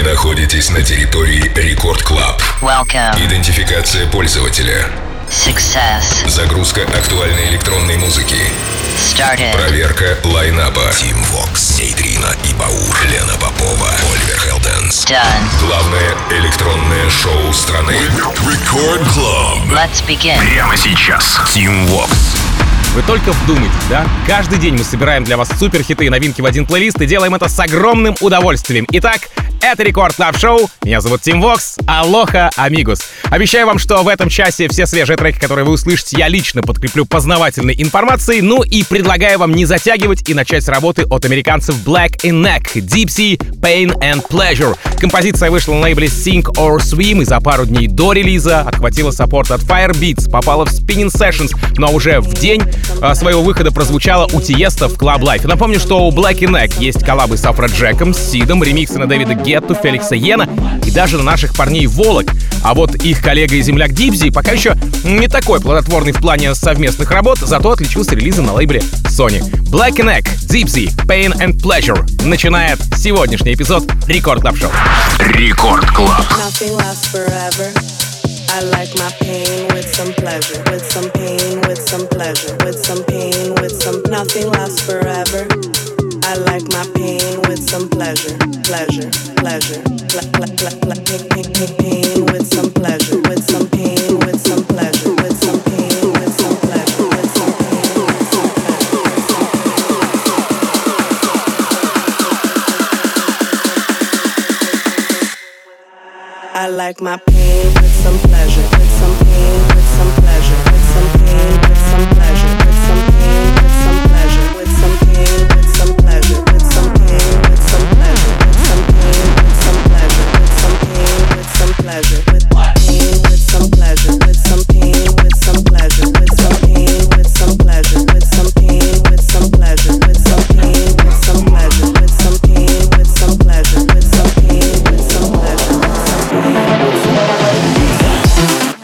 находитесь на территории Рекорд Клаб. Welcome. Идентификация пользователя. Success. Загрузка актуальной электронной музыки. Started. Проверка лайнапа. Тим Вокс, Нейтрино и Баур, Лена Попова, Оливер Хелденс. Done. Главное электронное шоу страны. Рекорд Клаб. Let's begin. Прямо сейчас. Тим Вокс. Вы только вдумайтесь, да? Каждый день мы собираем для вас суперхиты и новинки в один плейлист и делаем это с огромным удовольствием. Итак, это Рекорд Клаб Шоу. Меня зовут Тим Вокс. Алоха, амигос. Обещаю вам, что в этом часе все свежие треки, которые вы услышите, я лично подкреплю познавательной информацией. Ну и предлагаю вам не затягивать и начать с работы от американцев Black in Neck, Dipsy, Pain and Pleasure. Композиция вышла на лейбле Sink or Swim и за пару дней до релиза отхватила саппорт от Firebeats, попала в Spinning Sessions, но уже в день своего выхода прозвучала у Тиеста в Club Life. Напомню, что у Black in Neck есть коллабы с Афроджеком, с Сидом, ремиксы на Дэвида Гетту, Феликса Йена и даже на наших парней Волок. А вот их коллега и земляк Дипси пока еще не такой плодотворный в плане совместных работ, зато отличился релизом на лейбле Sony. Black in Neck, Dipsy, Pain and Pleasure начинает сегодняшний эпизод Рекорд Клаб Шоу. Рекорд Клаб. I like my pain with some pleasure, with some pain, with some pleasure, with some pain, with some nothing lasts forever. I like my pain with some pleasure, pleasure, pleasure, pain with some pleasure, with some pain, with some pleasure, with some pain, with some pleasure, with some pain, with some pleasure. I like my pain with some pleasure, with some pain, with some pleasure, with some pain, with some pleasure, with some pain, with some pleasure, with some pain, with some pleasure, with some pain, with some pleasure, with some pain, with some pleasure, with some pain, with some pleasure, with pain, with some pleasure, with some pain, with some pleasure, with some pain, with some pleasure, with some pain, with some pleasure, with some pain, with some pleasure, with some pain, with some pleasure, with some pain, with some pleasure, with some pain.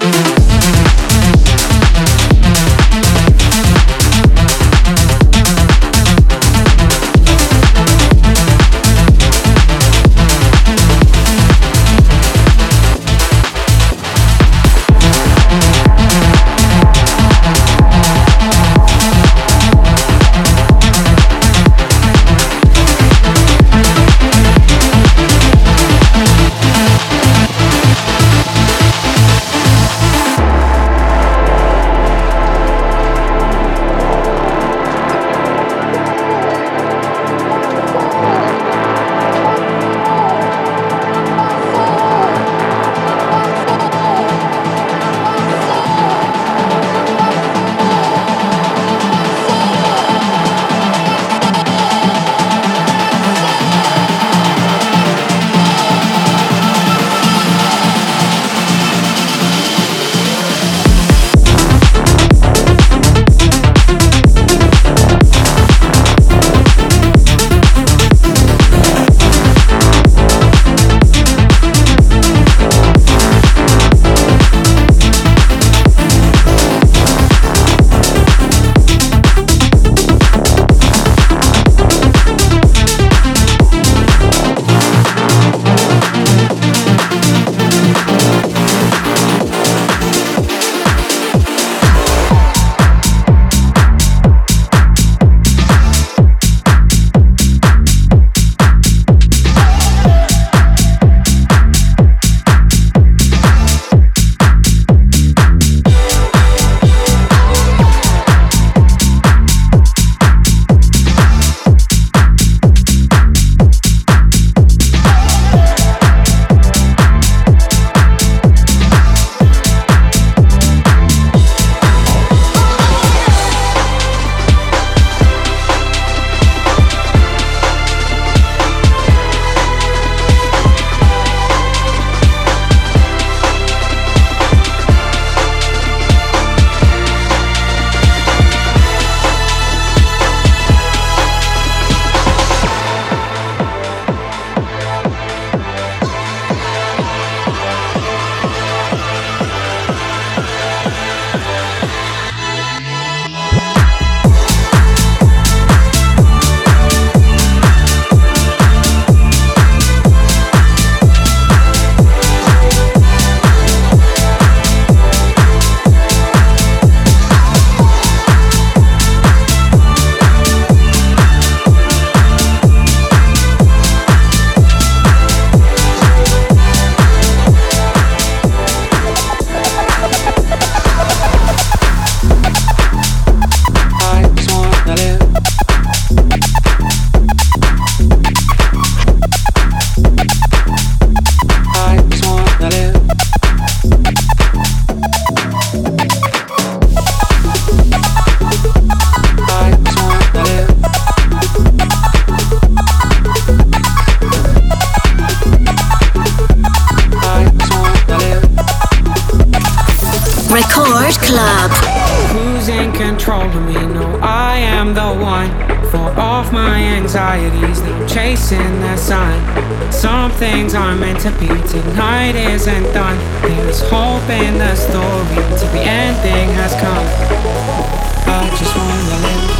hold of me. No, I am the one for off my anxieties. Now I'm chasing the sun. Some things aren't meant to be. Tonight isn't done. There's hope in the story till the ending has come. I just wanna live.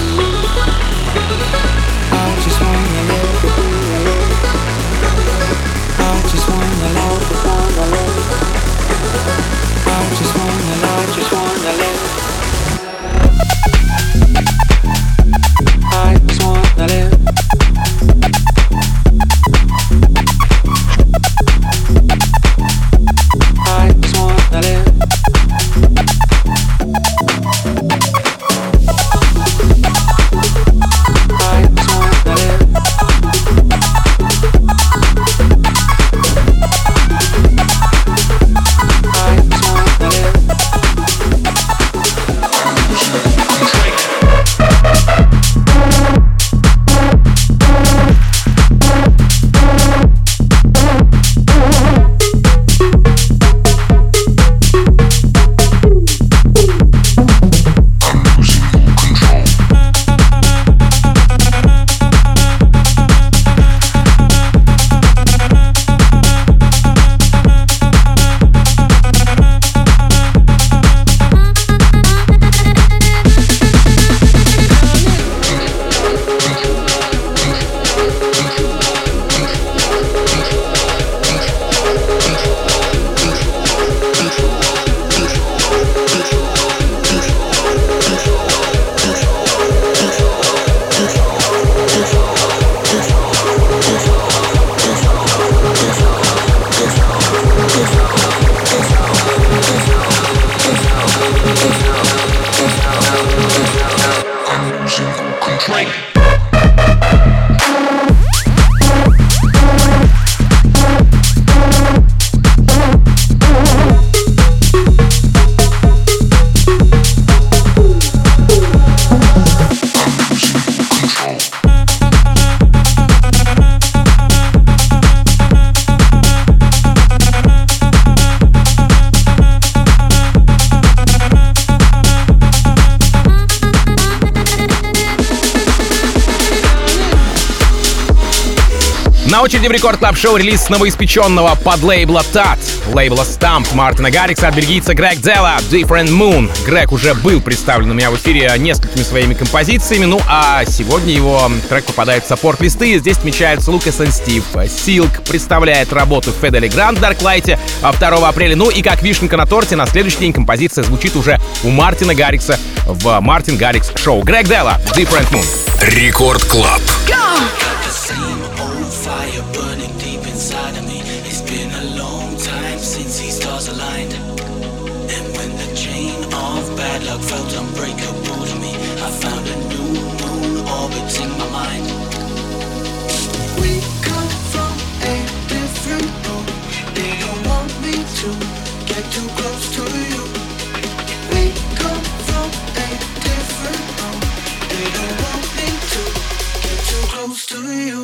I just wanna live. I just wanna live. I just wanna live. Just wanna live. I just wanna live. I just wanna live. На очереди в Рекорд Клаб Шоу релиз новоиспеченного подлейбла TAT, лейбла Stamp Мартина Гаррикса от бельгийца Грег Делла, Different Moon. Грег уже был представлен у меня в эфире несколькими своими композициями, ну а сегодня его трек попадает в саппорт-листы. Здесь отмечаются Лукас и Стив. Silk представляет работу Федели Гранд в Дарклайте 2 апреля. Ну и как вишенка на торте, на следующий день композиция звучит уже у Мартина Гаррикса в Мартин Гаррикс Шоу. Грег Делла, Different Moon. Рекорд Клаб. Fire burning deep inside of me. It's been a long time since these stars aligned. And when the chain of bad luck felt unbreakable to me, I found a new moon orbiting my mind. We come from a different road. They don't want me to get too close to you. We come from a different road. They don't want me to get too close to you.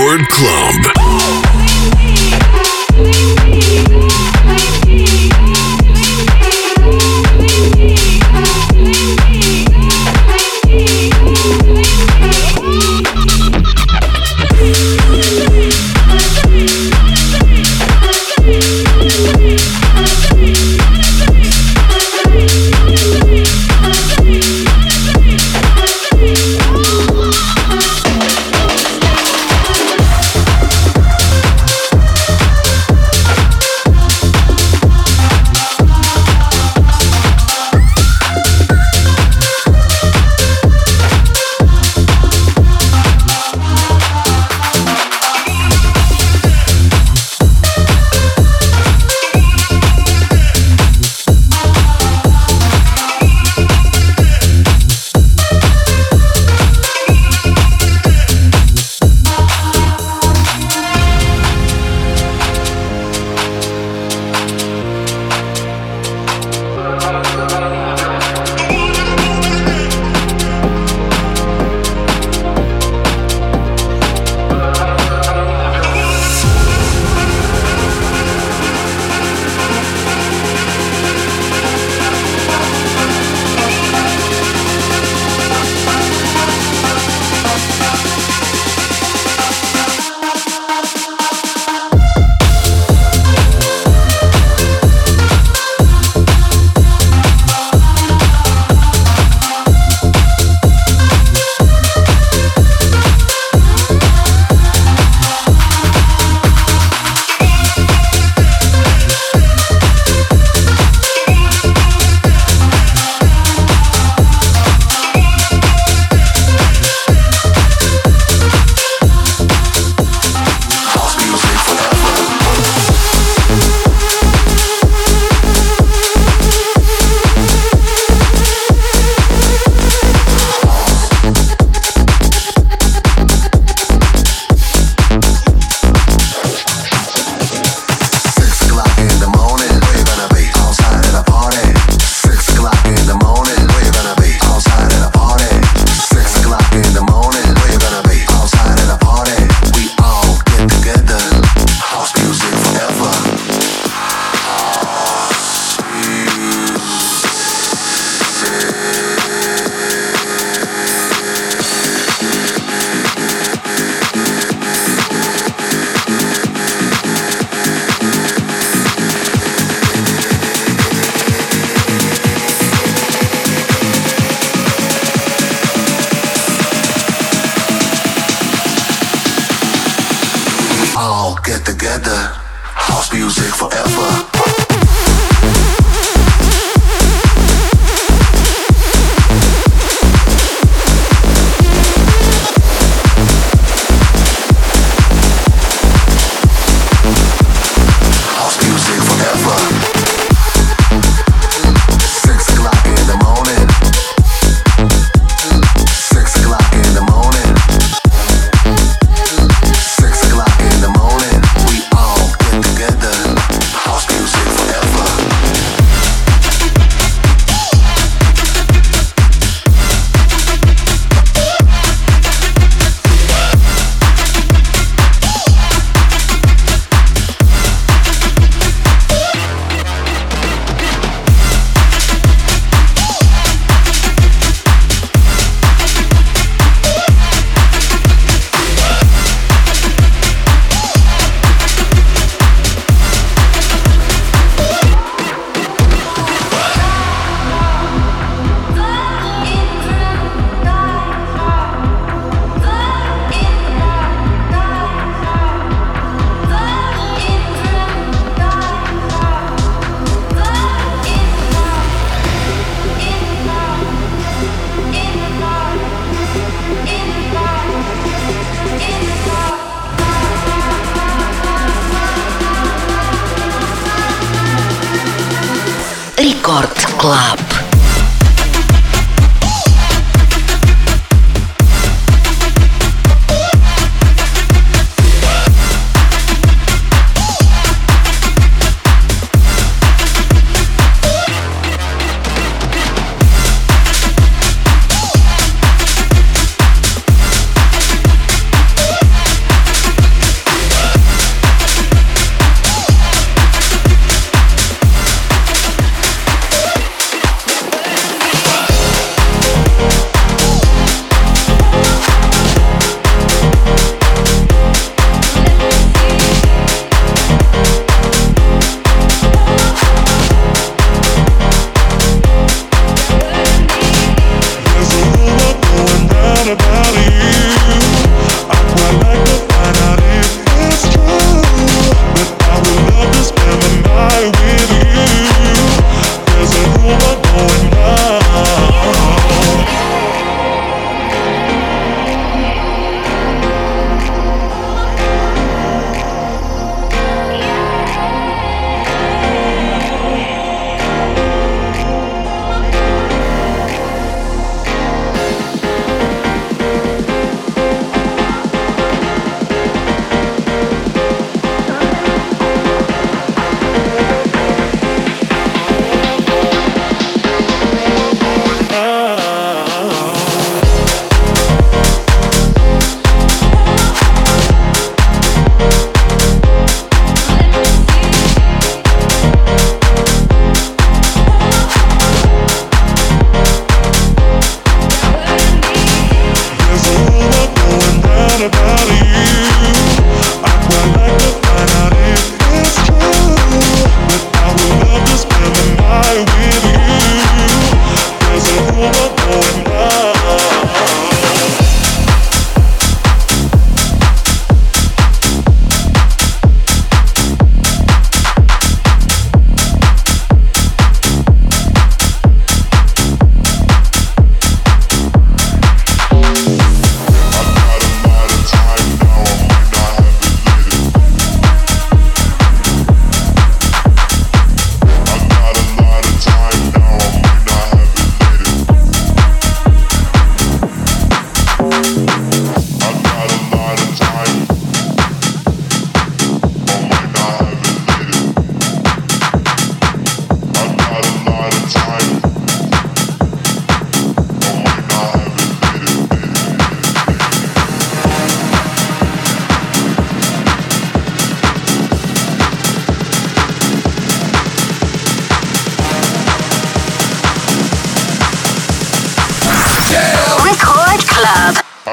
Record Club. Рекорд Клаб.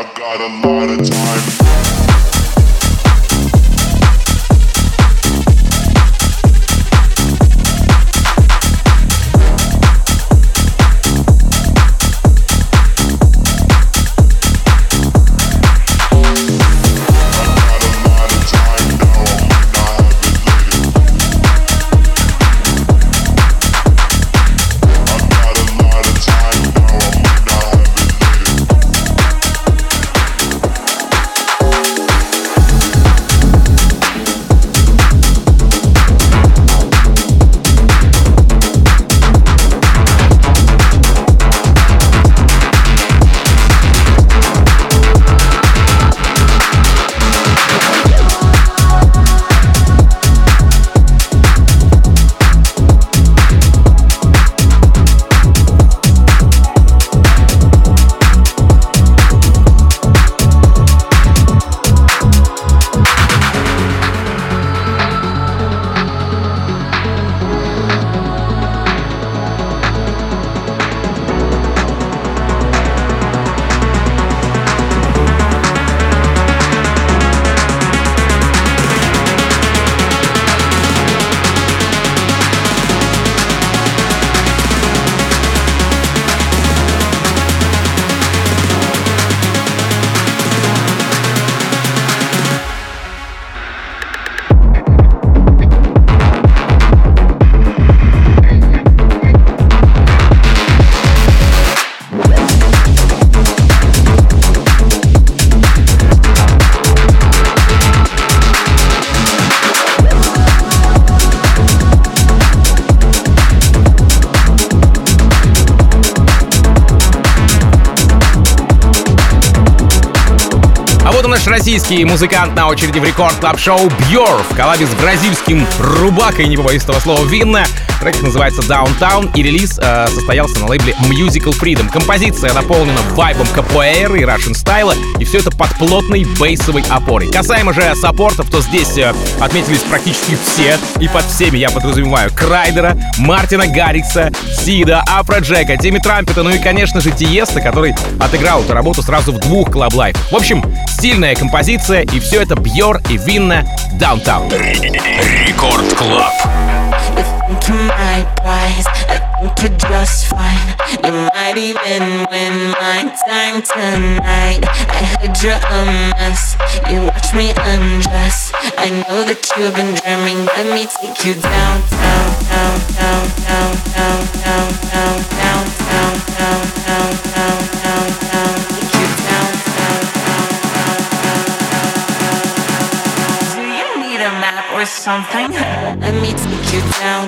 наш российский музыкант на очереди в Рекорд Клаб Шоу Björk в коллабе с бразильским рубакой, не побоюсь этого слова, Винна. Трек называется Downtown, и релиз состоялся на лейбле Musical Freedom. Композиция наполнена вайбом капоэйры и Russian стайла, и все это под плотной бейсовой опорой. Касаемо же саппортов, то здесь отметились практически все, и под всеми я подразумеваю Крайдера, Мартина Гаррикса, Сида, Афроджека, Тимми Трампета, ну и, конечно же, Тиеста, который отыграл эту работу сразу в 2 клаб-лайфах. В общем, стильная композиция, и все это Björk и Винна Downtown. Рекорд Клаб. To my prize, I think you're just fine. You might even win my time tonight. I heard you're a mess, you watch me undress. I know that you've been dreaming, let me take you down, down, down, down, down, down, down, down, down, down, down, down, down, down, down, take you down, down, down, down, down. Do you need a map or something? Let me take you down.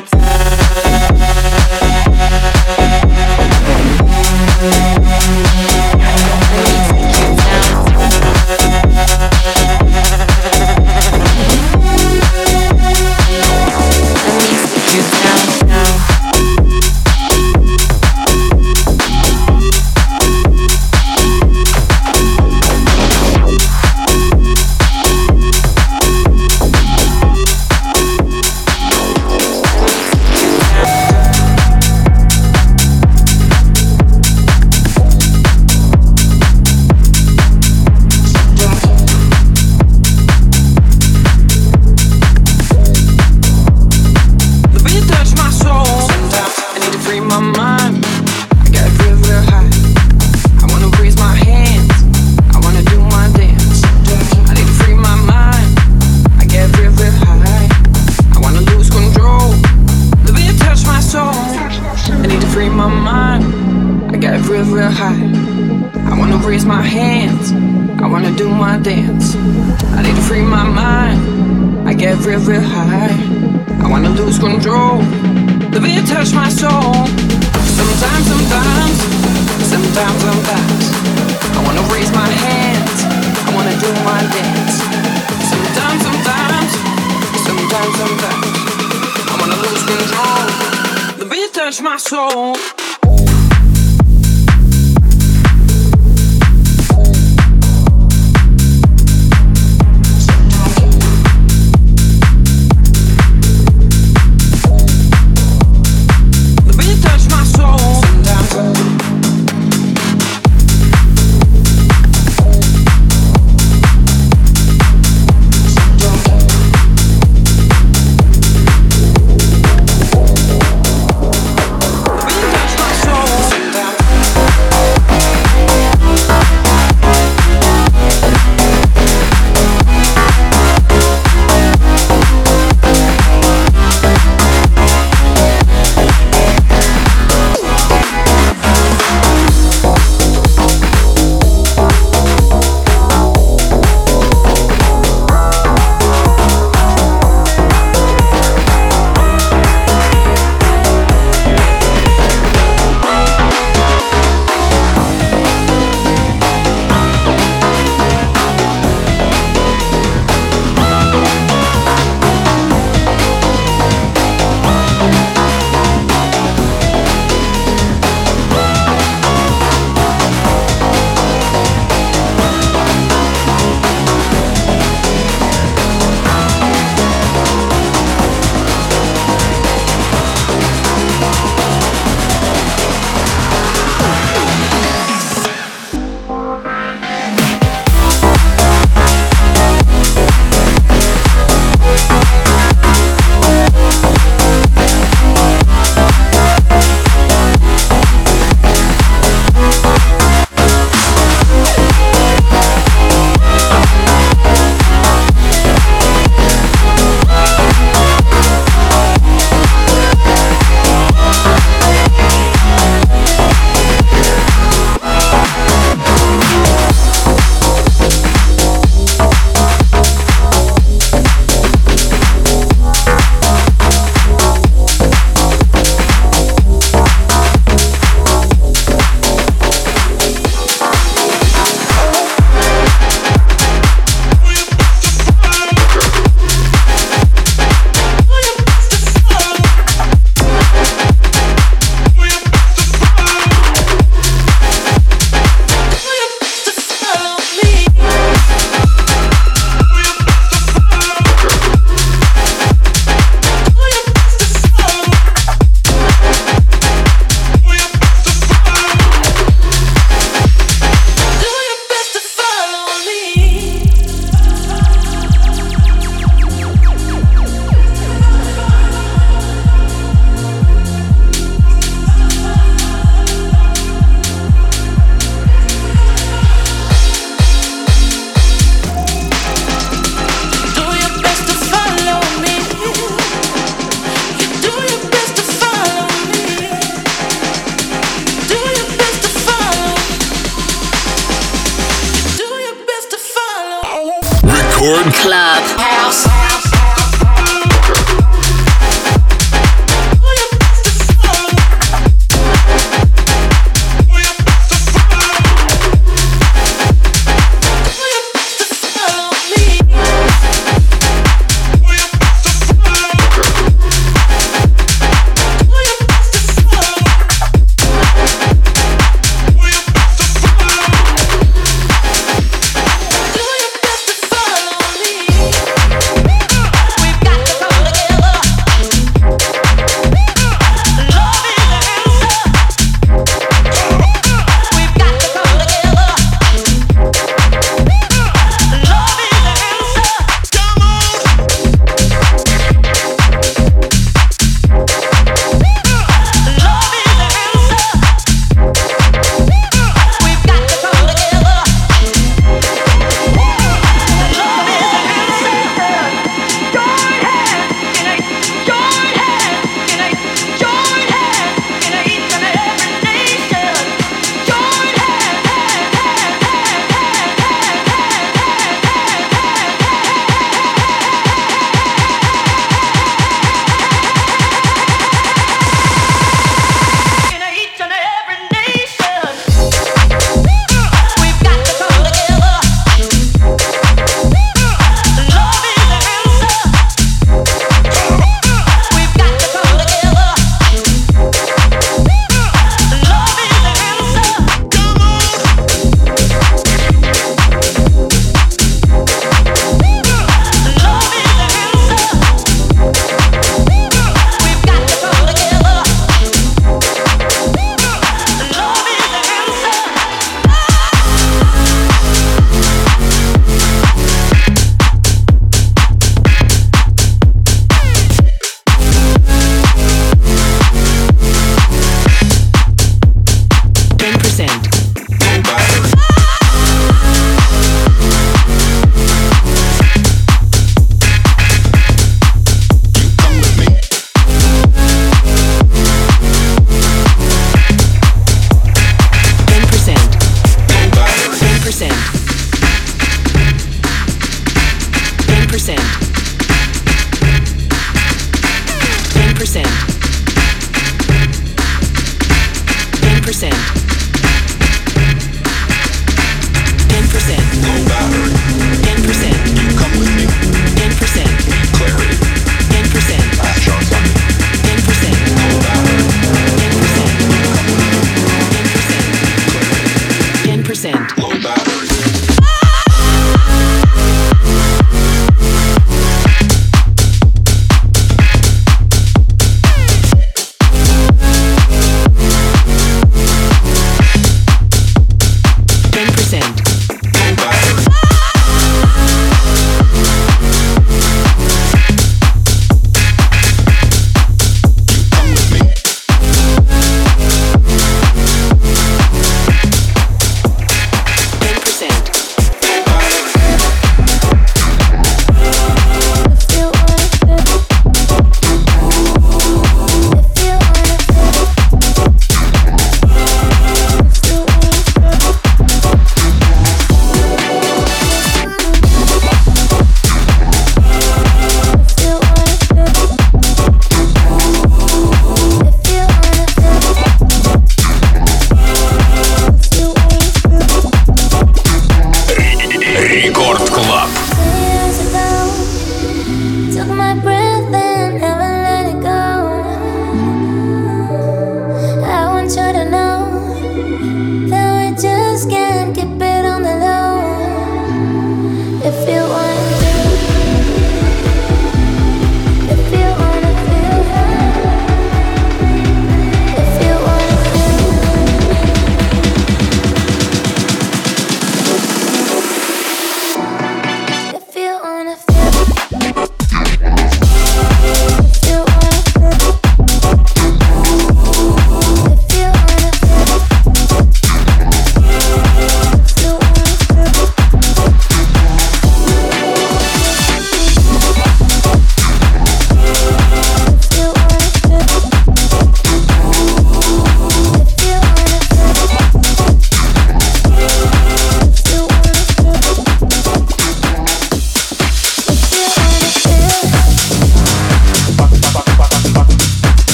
Record Club House.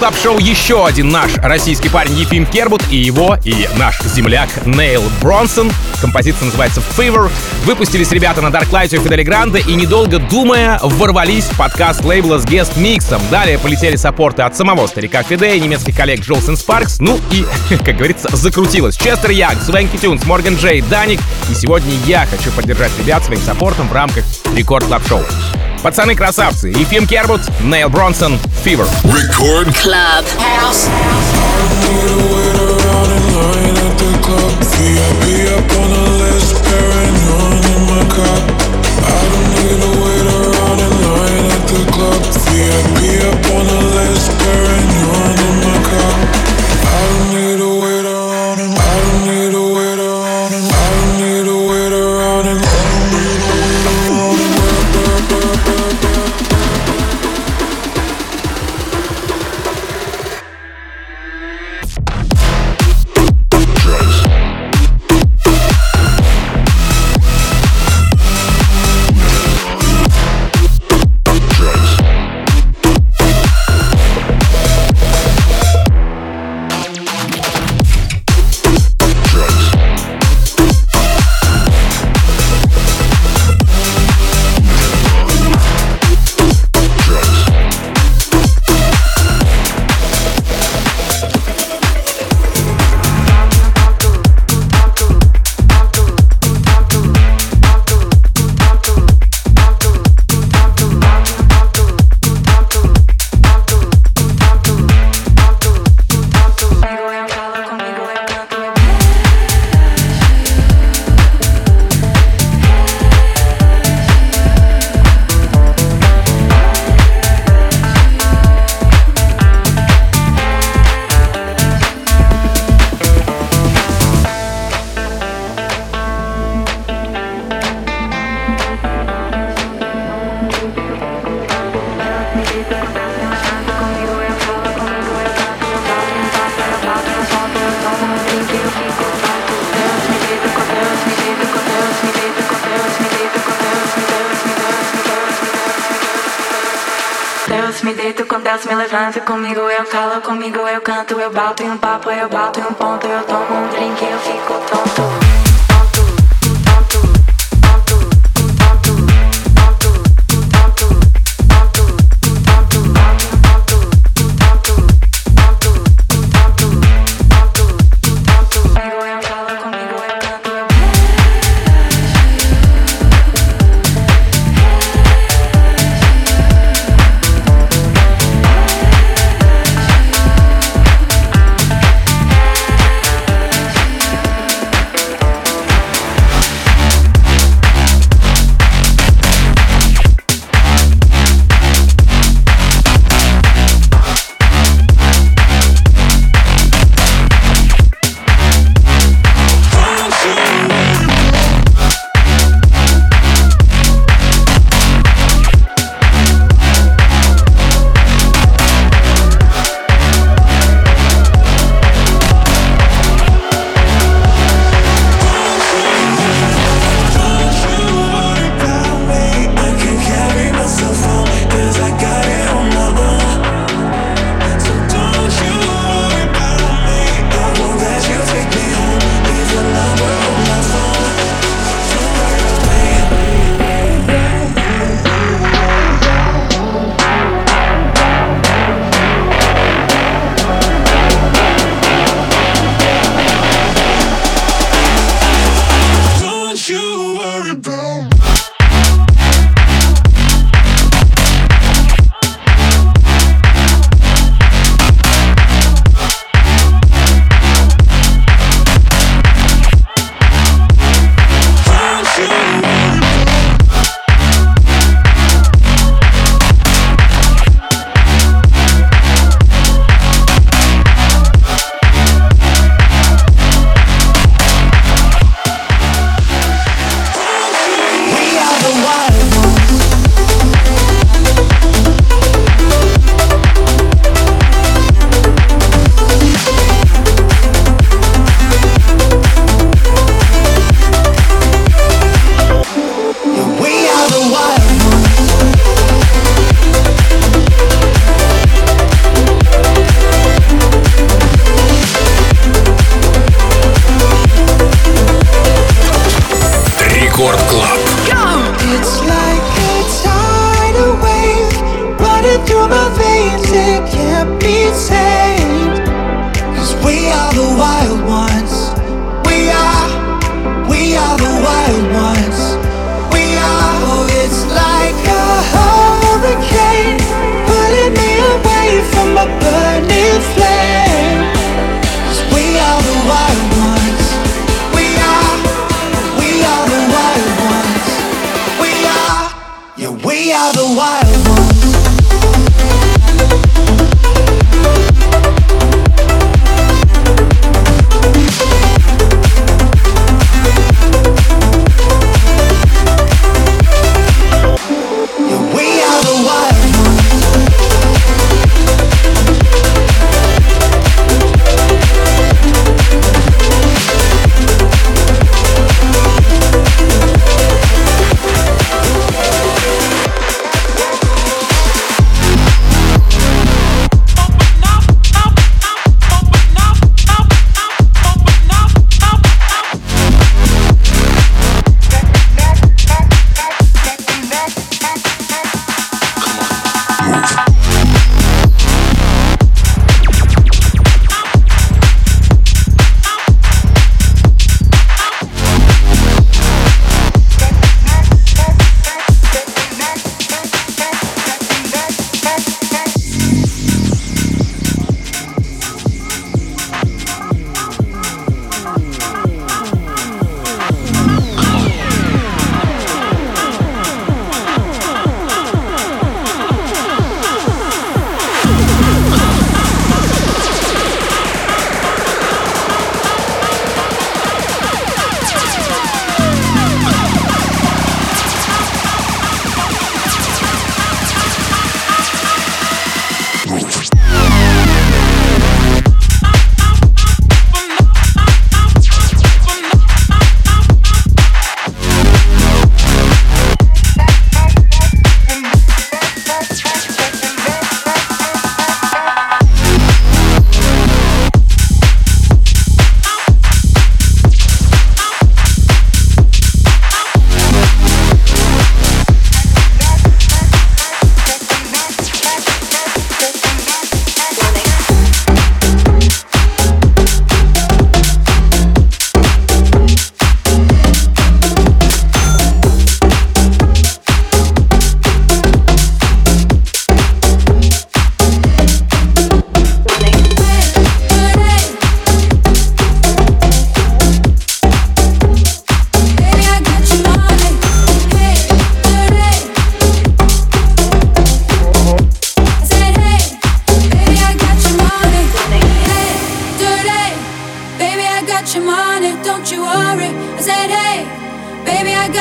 Club Show еще один наш российский парень Ефим Кербут и наш земляк Нейл Бронсон. Композиция называется Fever. Выпустились ребята на Dark Light у Фидели Гранде и, недолго думая, ворвались в подкаст лейбла с гест-миксом. Далее полетели саппорты от самого старика Фиде и немецких коллег Джолсен Спаркс. Ну и, как говорится, закрутилось. Честер Янг, Свенки Тюнс, Морган Джей, Даник. И сегодня я хочу поддержать ребят своим саппортом в рамках Рекорд Клаб Шоу. Пацаны красавцы. Ефим Кербут, Нейл Бронсон, Fever. Рекорд Club House. Me deito com Deus, me levanta comigo, eu calo comigo, eu canto, eu bato em um papo, eu bato em um ponto, eu tomo um drink, eu fico tonto.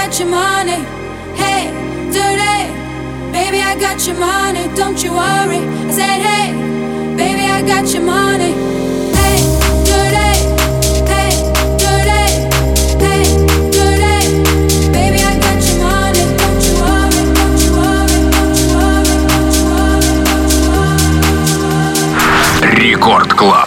got your money. Hey, dirty, baby, I got your money. Don't you worry. I said, hey, baby, I got your money. Hey, dirty, hey, dirty, hey, dirty, baby, I got your money. Don't you worry, don't you worry, don't you worry, don't you worry, don't you worry. Рекорд Клаб.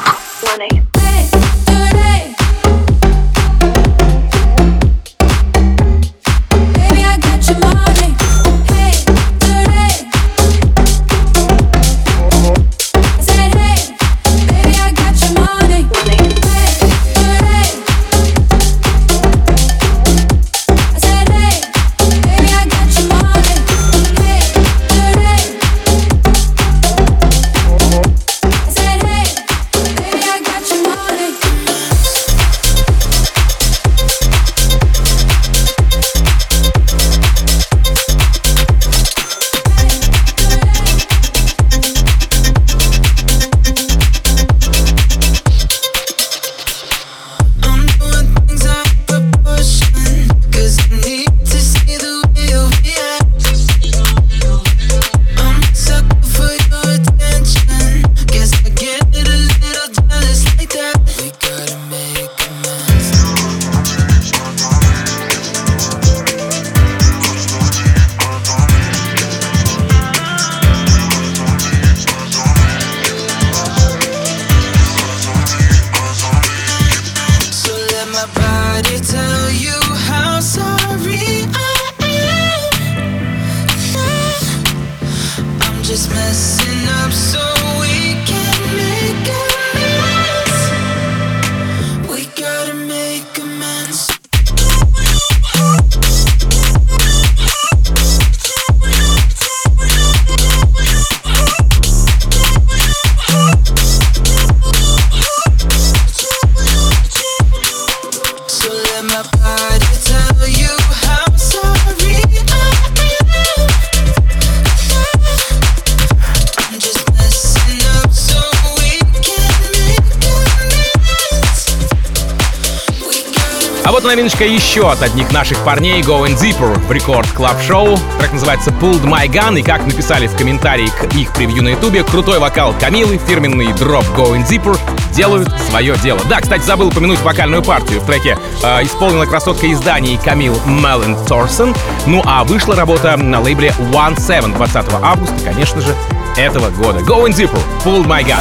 А вот новиночка еще от одних наших парней Going Deeper в Рекорд Клаб Шоу. Трек называется Pulled My Gun, и как написали в комментарии к их превью на ютубе, крутой вокал Камилы, фирменный дроп Going Deeper делают свое дело. Да, кстати, забыл упомянуть вокальную партию. В треке исполнила красотка изданий Камил Меллен Торсон. Ну а вышла работа на лейбле One Seven 20 августа, конечно же, этого года. Going Deeper, Pulled My Gun.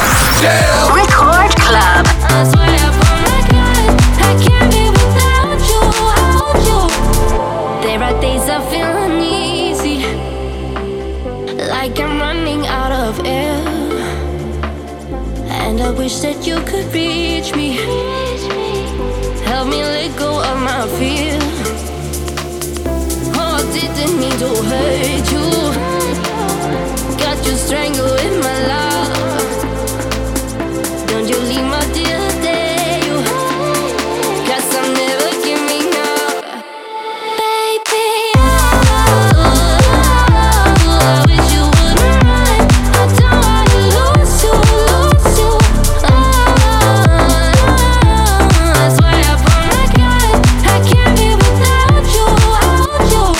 Record Club. There are days I feel uneasy, like I'm running out of air, and I wish that you could reach me, help me let go of my fear. Oh, I didn't mean to hurt you, got you strangled with my love. Don't you leave my dear day, you, 'cause I'm never giving up. Baby, I wish you wouldn't run. I don't wanna lose you, lose you. That's why I pull my gun. I can't be without you, without you.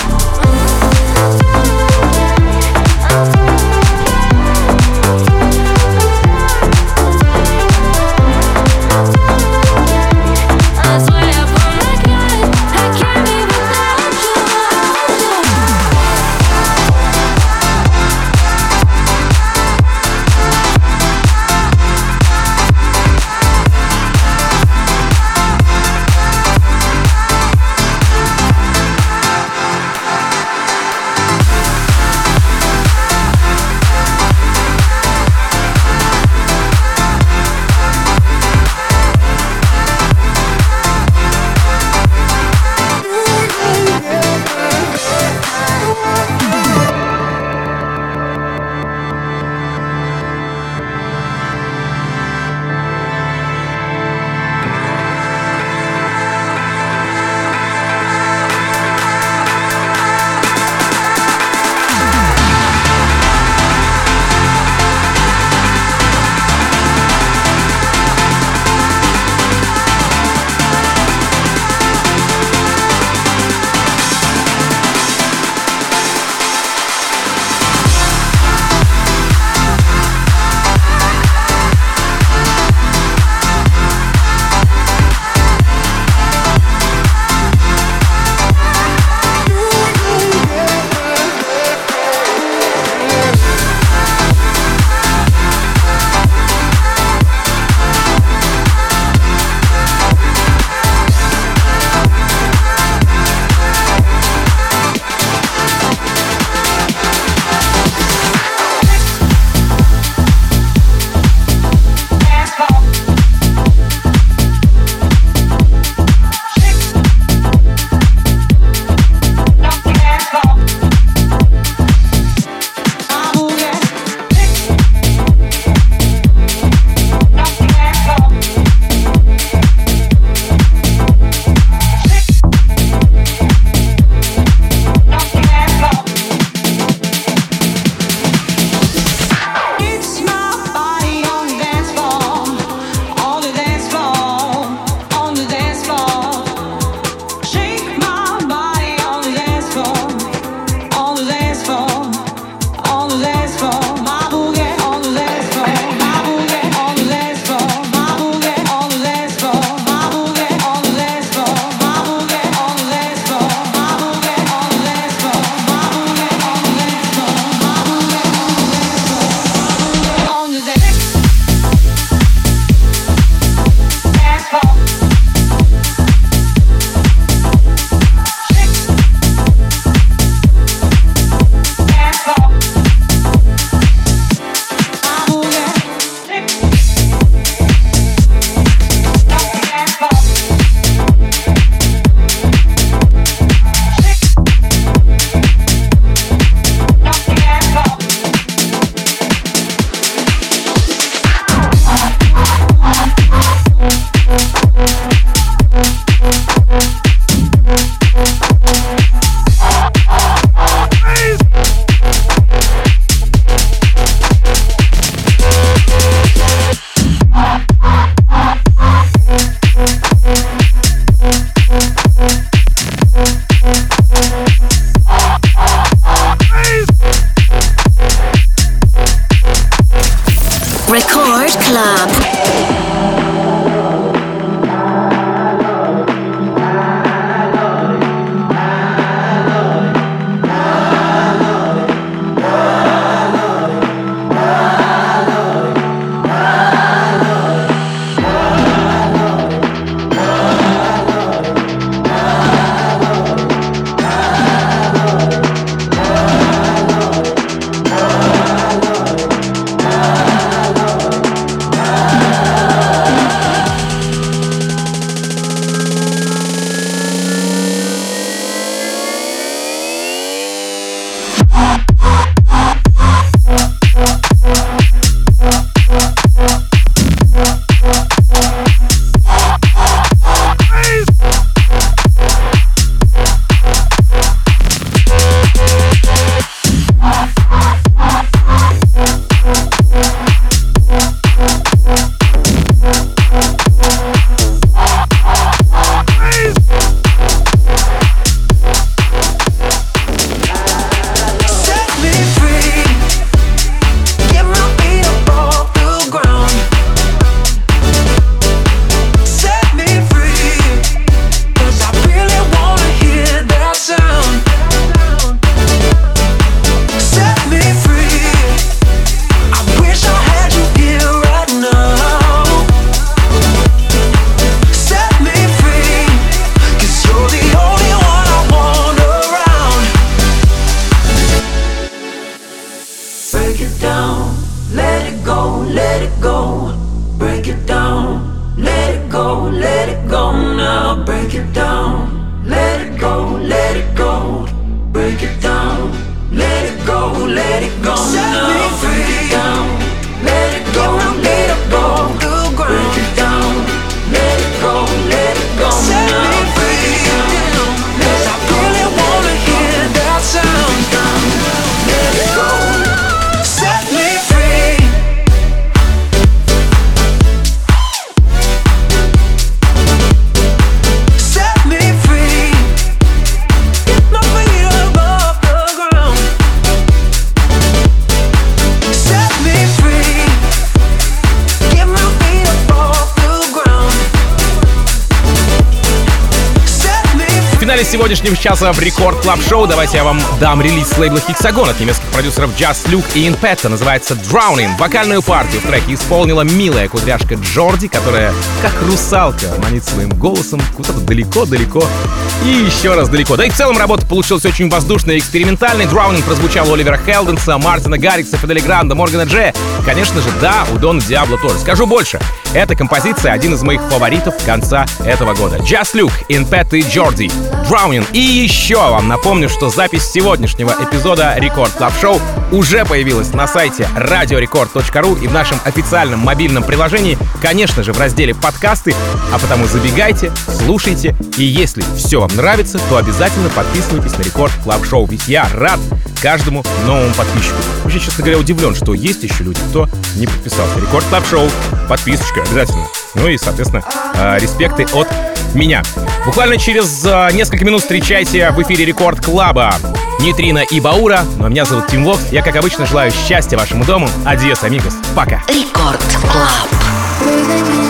let it go now, break it down. Let it go break it down. Let it go now, break it down. Let it go now, break it down. Let it go now, break it down. I really wanna hear that sound. Let it go, set me free. Set me free. Get my feet above the ground. Set me free. Get my feet above the ground. Set me free. В финале сегодняшнего часа в Рекорд Клаб Шоу давайте я вам дам релиз с лейбла Hexagon от немецких продюсеров Just Luke и Inpetta. Называется Drowning. Вокальную партию в треке исполнила милая кудряшка Джорди, которая, как русалка, манит своим голосом куда-то далеко-далеко и еще раз далеко. Да и в целом работа получилась очень воздушной и экспериментальной. Drowning прозвучал у Оливера Хелденса, Мартина Гаррикса, Фидели Гранда, Моргана Джея. Конечно же, да, у Дона Диабло тоже. Скажу больше. Эта композиция один из моих фаворитов конца этого года. Just Luke, Inpetta и Джорди. Drowning. И еще вам напомню, что запись сегодняшнего эпизода Рекорд Клаб Шоу уже появилась на сайте radiorecord.ru и в нашем официальном мобильном приложении, конечно же, в разделе «Подкасты», а потому забегайте, слушайте, и если все вам нравится, то обязательно подписывайтесь на Рекорд Клаб Шоу, ведь я рад каждому новому подписчику. Вообще, честно говоря, удивлен, что есть еще люди, кто не подписался. Рекорд Клаб Шоу, подписочка обязательно. Ну и, соответственно, респекты от меня. Буквально через несколько минут встречайте в эфире Рекорд Клаба Нейтрино и Баура. Ну а меня зовут Тим Вокс. Я, как обычно, желаю счастья вашему дому. Адьос, амигос. Пока. Рекорд Клаб.